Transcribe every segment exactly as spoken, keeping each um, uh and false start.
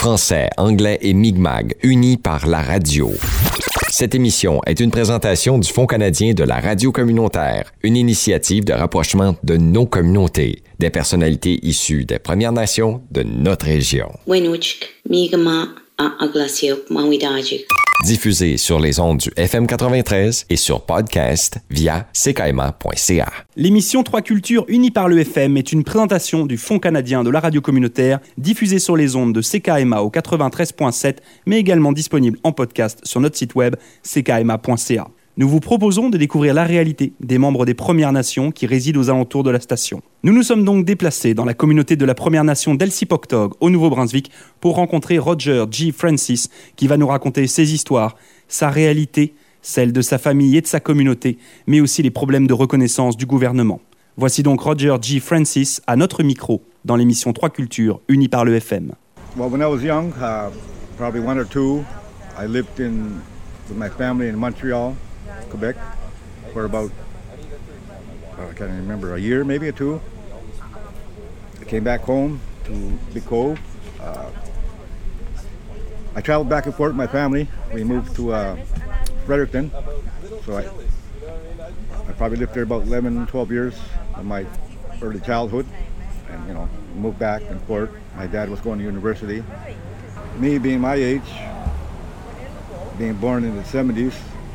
Français, anglais et Mi'kmaq, unis par la radio. Cette émission est une présentation du Fonds canadien de la radio communautaire, une initiative de rapprochement de nos communautés, des personnalités issues des Premières Nations de notre région. Diffusé sur les ondes du F M quatre-vingt-treize et sur podcast via c k m a point c a. L'émission Trois Cultures unies par le F M est une présentation du Fonds canadien de la radio communautaire, diffusée sur les ondes de C K M A au quatre-vingt-treize point sept, mais également disponible en podcast sur notre site web c k m a point c a. Nous vous proposons de découvrir la réalité des membres des Premières Nations qui résident aux alentours de la station. Nous nous sommes donc déplacés dans la communauté de la Première Nation d'Elsipogtog, au Nouveau-Brunswick, pour rencontrer Roger G. Francis, qui va nous raconter ses histoires, sa réalité, celle de sa famille et de sa communauté, mais aussi les problèmes de reconnaissance du gouvernement. Voici donc Roger G. Francis à notre micro, dans l'émission Trois Cultures, unie par le F M. Well, when I was young, uh, probably one or two, I lived in, with my family in Montreal, Quebec, for about, oh, I can't remember, a year maybe or two. I came back home to Big Cove. Uh, I traveled back and forth with my family. We moved to uh, Fredericton, so I, I probably lived there about eleven, twelve years of my early childhood, and you know, moved back and forth. My dad was going to university. Me being my age, being born in the seventies,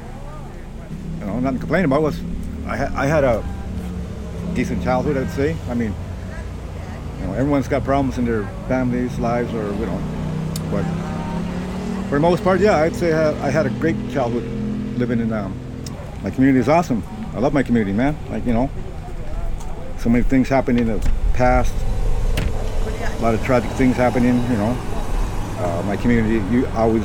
you know, nothing to complain about. Was I had I had a decent childhood, I'd say. I mean, you know, everyone's got problems in their families, lives, or you know, but for the most part, yeah, I'd say I had, I had a great childhood living in um, my community. Is awesome. I love my community, man. Like, you know, so many things happened in the past. A lot of tragic things happening. You know, uh, my community you always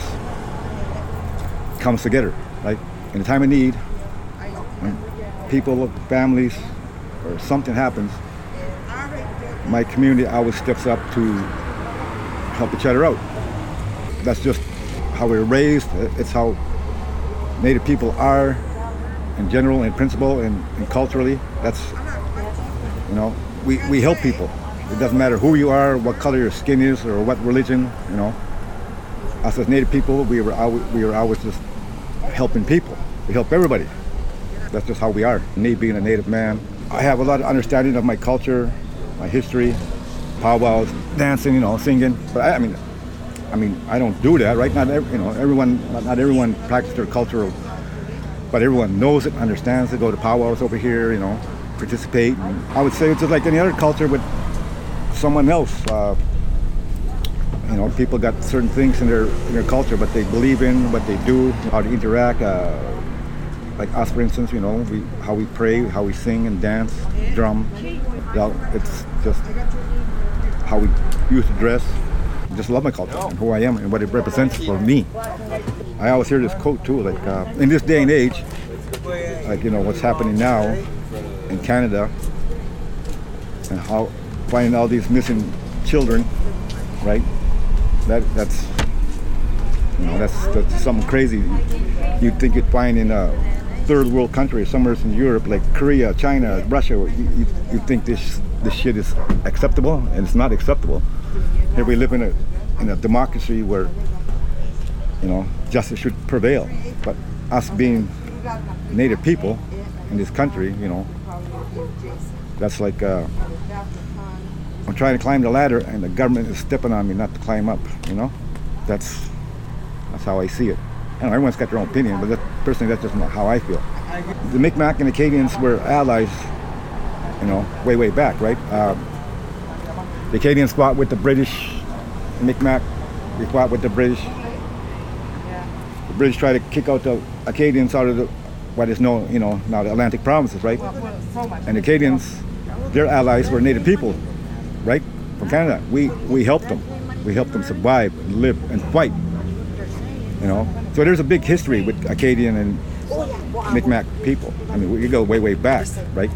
comes together. Like in a time of need, when people, families, or something happens, my community always steps up to help each other out. That's just how we were raised. It's how Native people are in general, in principle, and, and culturally. That's, you know, we, we help people. It doesn't matter who you are, what color your skin is, or what religion, you know. Us as Native people, we were always, we were always just helping people. We help everybody. That's just how we are. Me being a Native man, I have a lot of understanding of my culture, my history, powwows, dancing, you know, singing. But I, I mean, I mean, I don't do that, right? Not every, you know, everyone, not, not everyone practices their cultural, but everyone knows it, understands it. Go to powwows over here, you know, participate. And I would say it's just like any other culture with someone else. Uh, you know, people got certain things in their in their culture, but they believe in what they do, how to interact. Uh, like us, for instance, you know, we, how we pray, how we sing and dance, drum. You know, it's just how we used to dress. I just love my culture and who I am and what it represents for me. I always hear this quote too, like uh, in this day and age, like, you know, what's happening now in Canada and how finding all these missing children, right? That that's you know that's that's something crazy. You'd think you'd find in a third world country, somewhere in Europe, like Korea, China, Russia. You you, you think this this shit is acceptable, and it's not acceptable. Here we live in a in a democracy where, you know, justice should prevail. But us being Native people in this country, you know, that's like uh, I'm trying to climb the ladder and the government is stepping on me not to climb up. You know, that's that's how I see it. I know everyone's got their own opinion, but that, personally, that's just not how I feel. The Mi'kmaq and Acadians were allies, you know, way way back, right? Uh, the Acadians fought with the British. The Mi'kmaq, we fought with the British. The British tried to kick out the Acadians out of the what is known, you know, now the Atlantic provinces, right? And the Acadians, their allies were Native people, right? From Canada. We we helped them. We helped them survive and live and fight. You know, so there's a big history with Acadian and Mi'kmaq people. I mean, we go way way back, right?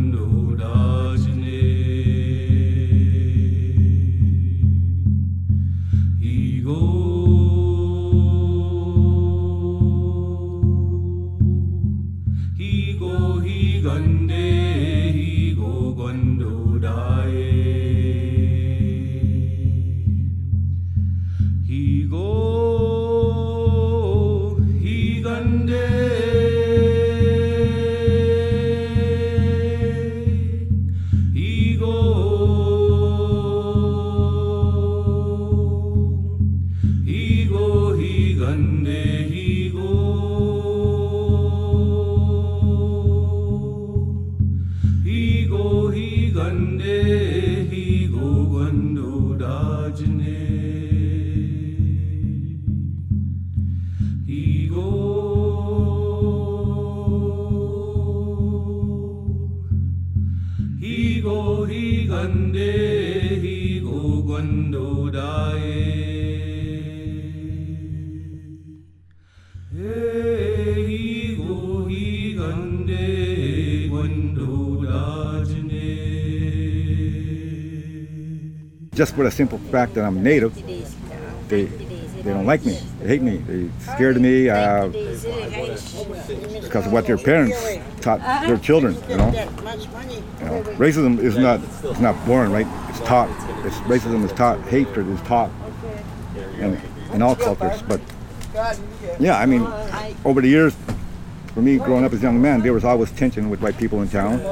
Just for the simple fact that I'm native, they they don't like me. They hate me. They're scared of me uh, because of what their parents taught their children. You know, you know, racism is not it's not born, right? It's taught. It's, racism is taught. Hatred is taught, in, in all cultures. But yeah, I mean, over the years, for me growing up as a young man, there was always tension with white people in town.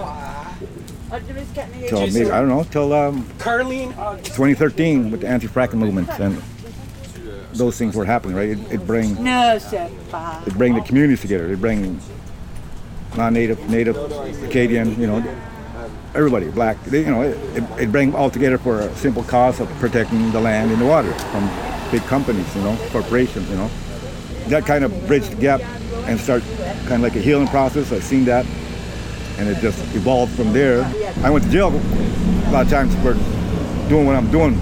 Till maybe, I don't know, till um, twenty thirteen with the anti-fracking movement, and those things were happening, right? It, it bring it bring the communities together. It bring non-native, native, Acadian, you know, everybody, black. They, you know, it, it, it bring all together for a simple cause of protecting the land and the water from big companies, you know, corporations, you know. That kind of bridged the gap and start kind of like a healing process. I've seen that. And it just evolved from there. I went to jail a lot of times for doing what I'm doing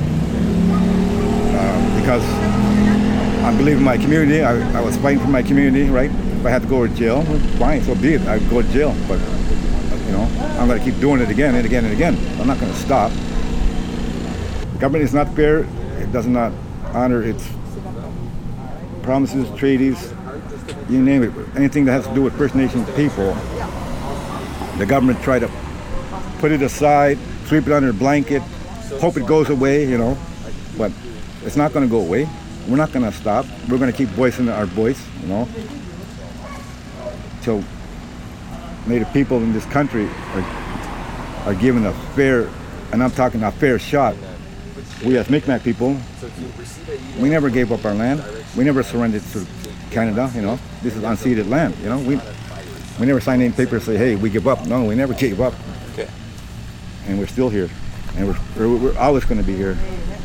uh, because I believe in my community. I, I was fighting for my community, right? If I had to go to jail, fine, so be it. I'd go to jail, but you know, I'm going to keep doing it again and again and again. I'm not going to stop. The government is not fair. It does not honor its promises, treaties, you name it. Anything that has to do with First Nations people. The government try to put it aside, sweep it under a blanket, hope it goes away, you know, but it's not going to go away. We're not going to stop. We're going to keep voicing our voice, you know, till Native people in this country are, are given a fair, and I'm talking a fair shot. We as Mi'kmaq people, we never gave up our land. We never surrendered to Canada, you know. This is unceded land, you know. We We never signed any papers that say, hey, we give up. No, we never gave up. Okay. And we're still here. And we're, we're, we're always going to be here.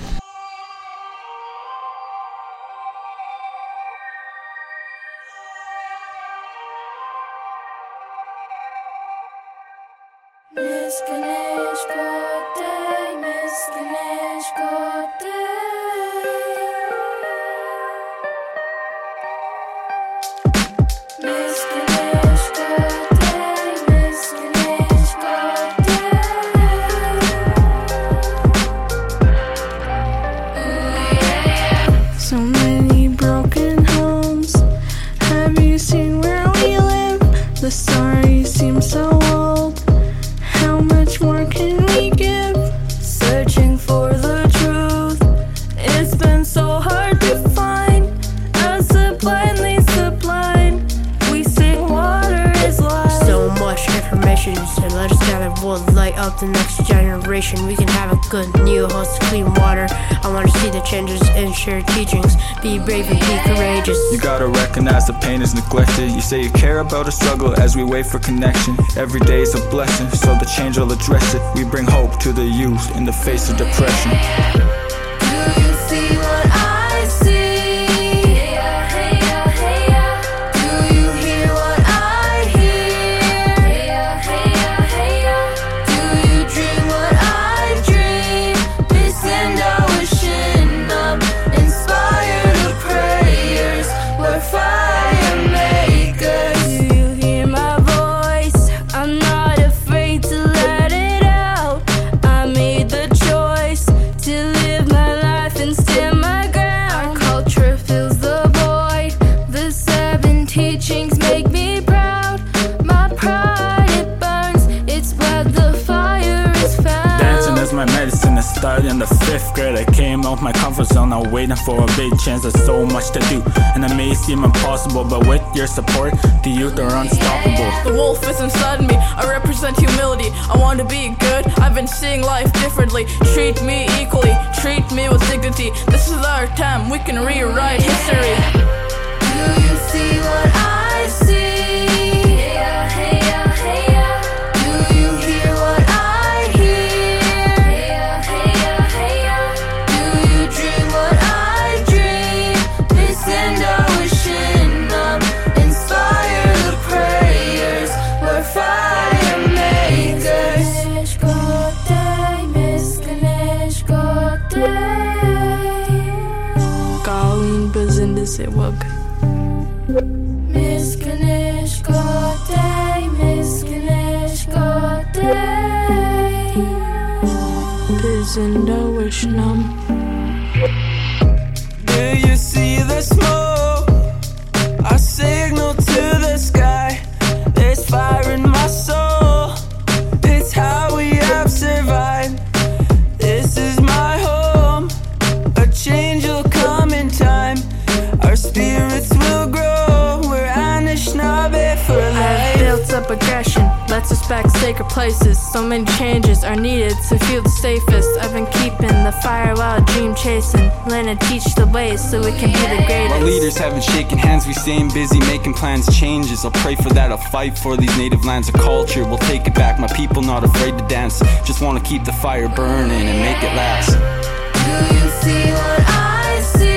The next generation, we can have a good new host, clean water. I want to see the changes and share teachings. Be brave and be courageous. You gotta recognize the pain is neglected. You say you care about a struggle as we wait for connection. Every day is a blessing, so the change will address it. We bring hope to the youth in the face of depression. Do you see what I see? Fire makers, do you hear my voice? I'm not afraid my medicine. I started in the fifth grade. I came out my comfort zone. I'm waiting for a big chance. There's so much to do, and it may seem impossible, but with your support, the youth are unstoppable. The wolf is inside me. I represent humility. I want to be good. I've been seeing life differently. Treat me equally. Treat me with dignity. This is our time. We can rewrite history. Do you see what I see? Wug. Miskanish Gotay, Miskanish Gotay. Bizinda Wishnam. Do you see the smoke? I signal to the sky. There's fire in my soul. It's how we have survived. This is my home. A change will come in time. Our spirits will grow. We're Anishinaabe for life. I've built up aggression. Let's respect sacred places. So many changes are needed to feel the safest. I've been keeping the fire while dream chasing. Learn and teach the ways so we can be the greatest. While leaders haven't shaken hands, we staying busy making plans, changes. I'll pray for that, I'll fight for these native lands of culture. We'll take it back, my people not afraid to dance. Just wanna keep the fire burning and make it last. Do you see what I see?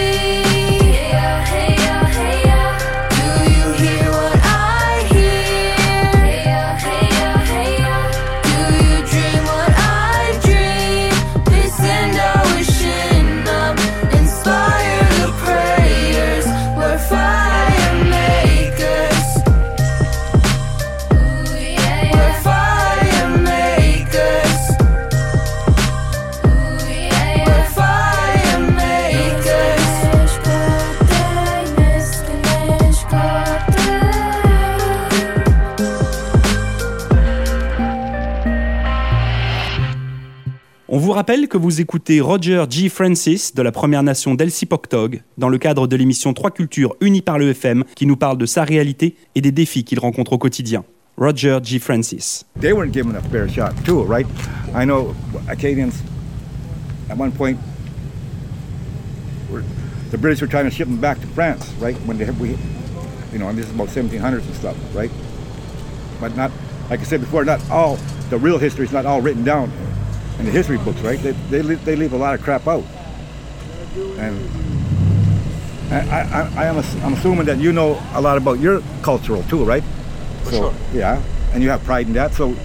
On vous rappelle que vous écoutez Roger G. Francis de la Première Nation d'Elsipogtog dans le cadre de l'émission Trois Cultures unies par le F M qui nous parle de sa réalité et des défis qu'il rencontre au quotidien. Roger G. Francis. They weren't given a fair shot too, right? I know Acadians at one point were, the British were trying to ship them back to France, right? When they we, you know, and this is about seventeen hundreds and stuff, right? But not, like I said before, not all the real history is not all written down in the history books, right? They they leave, they leave a lot of crap out, and I I, I am I'm assuming that you know a lot about your cultural too, right? For so, sure. Yeah, and you have pride in that. So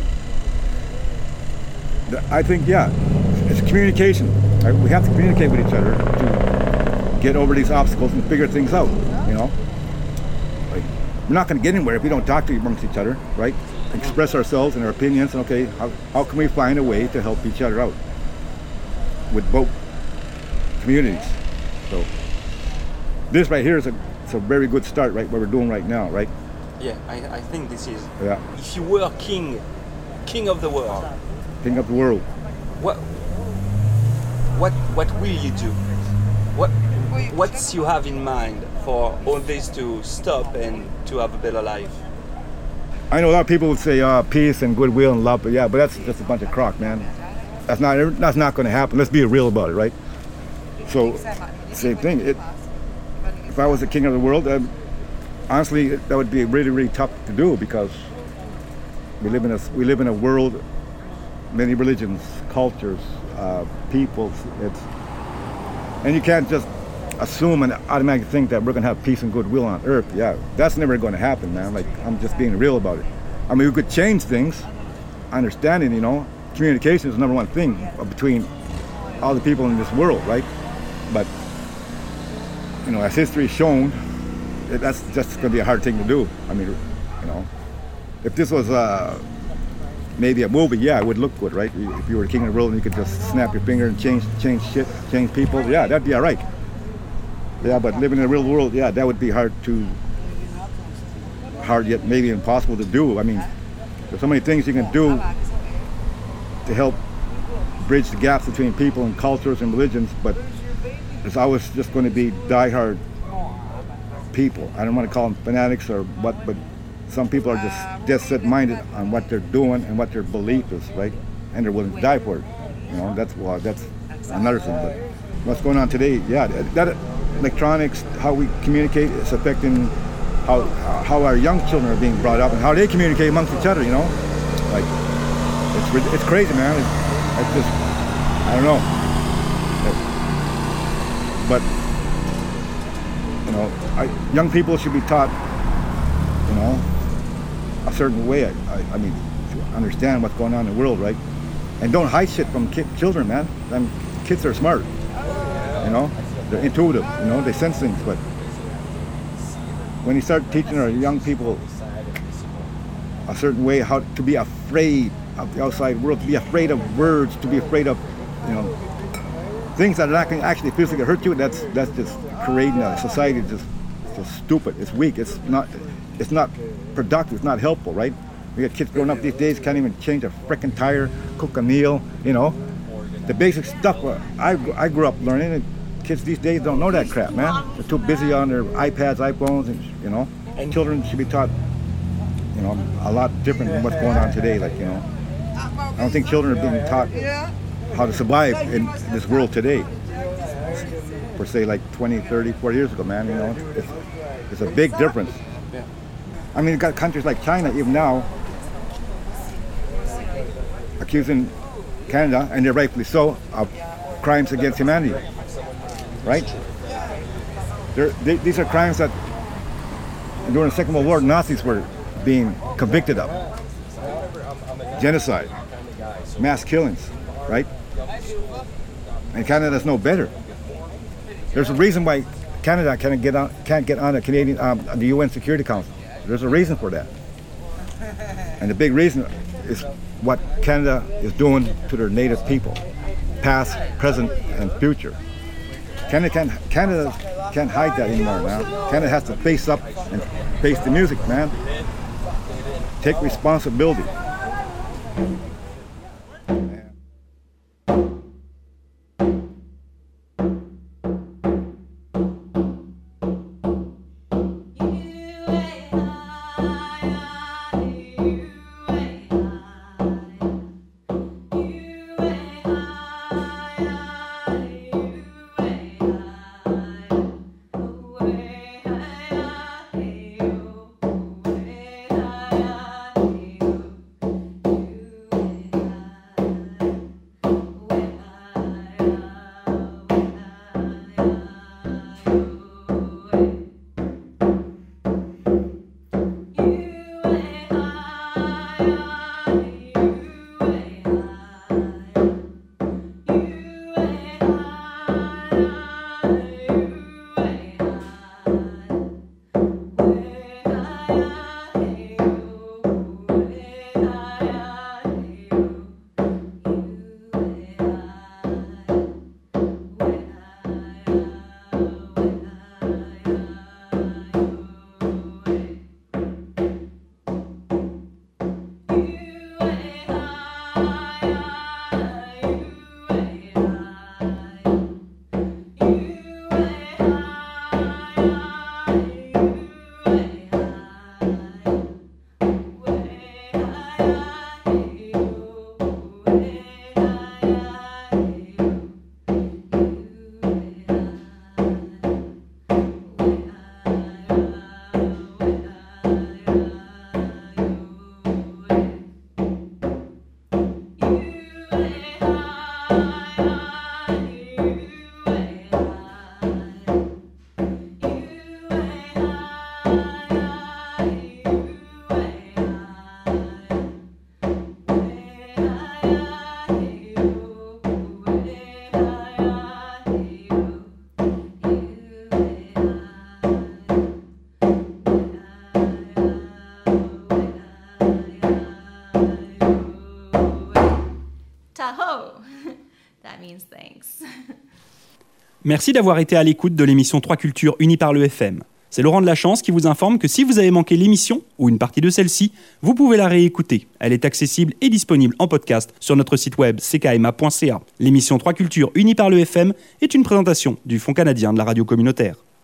the, I think yeah, it's communication. Right? We have to communicate with each other to get over these obstacles and figure things out. You know, like, we're not going to get anywhere if we don't talk to amongst each other, right? Express ourselves and our opinions, and okay, how, how can we find a way to help each other out with both communities? So this right here is a, it's a very good start, right? What we're doing right now, right? Yeah, I, I think this is. Yeah. If you were king, king of the world, King of the world. what, what, what will you do? What, what's you have in mind for all this to stop and to have a better life? I know a lot of people would say uh, peace and goodwill and love, but yeah, but that's just a bunch of crock, man. That's not that's not going to happen. Let's be real about it, right? So, same thing. It, if I was the king of the world, um, honestly, that would be really, really tough to do because we live in a we live in a world, many religions, cultures, uh, peoples. It's and you can't just assume and automatically think that we're going to have peace and goodwill on earth. Yeah, that's never going to happen, man. Like, I'm just being real about it. I mean, we could change things, understanding, you know, communication is the number one thing between all the people in this world, right? But, you know, as history has shown, it, that's just going to be a hard thing to do. I mean, you know, if this was uh, maybe a movie, yeah, it would look good, right? If you were the king of the world and you could just snap your finger and change, change shit, change people, yeah, that'd be all right. Yeah, but living in the real world, yeah, that would be hard to, hard yet maybe impossible to do. I mean, there's so many things you can do to help bridge the gaps between people and cultures and religions, but there's always just going to be diehard people. I don't want to call them fanatics or what, but some people are just dead set-minded on what they're doing and what their belief is, right? And they're willing to die for it. You know, that's well, that's another thing. But what's going on today? Yeah, that electronics, how we communicate, is affecting how how our young children are being brought up and how they communicate amongst each other. You know, like it's it's crazy, man. It's, it's just I don't know. But you know, I, young people should be taught, you know, a certain way. I, I, I mean, to understand what's going on in the world, right? And don't hide shit from kid, children, man. Them kids are smart, you know. They're intuitive, you know. They sense things. But when you start teaching our young people a certain way, how to be afraid of the outside world, to be afraid of words, to be afraid of, you know, things that are not going to actually physically hurt you, that's that's just creating a society that's just, just stupid. It's weak. It's not. It's not productive. It's not helpful, right? We got kids growing up these days can't even change a frickin' tire, cook a meal, you know. The basic stuff I, I grew up learning, and kids these days don't know that crap, man. They're too busy on their iPads, iPhones, and you know. And children should be taught, you know, a lot different than what's going on today. Like, you know, I don't think children are being taught how to survive in this world today. For say like twenty, thirty, forty years ago, man, you know, it's, it's a big difference. I mean, you've got countries like China, even now, accusing Canada, and they're rightfully so, of crimes against humanity, right? They, these are crimes that during the Second World War, Nazis were being convicted of. Genocide, mass killings, right? And Canada's no better. There's a reason why Canada can't get on, can't get on the Canadian, um, the U N Security Council. There's a reason for that. And the big reason is what Canada is doing to their native people, past, present, and future. Canada can't, Canada can't hide that anymore now. Canada has to face up and face the music, man. Take responsibility. Merci d'avoir été à l'écoute de l'émission trois Cultures unies par le F M. C'est Laurent de la Chance qui vous informe que si vous avez manqué l'émission ou une partie de celle-ci, vous pouvez la réécouter. Elle est accessible et disponible en podcast sur notre site web c k m a point c a. L'émission trois Cultures unies par le F M est une présentation du Fonds canadien de la radio communautaire.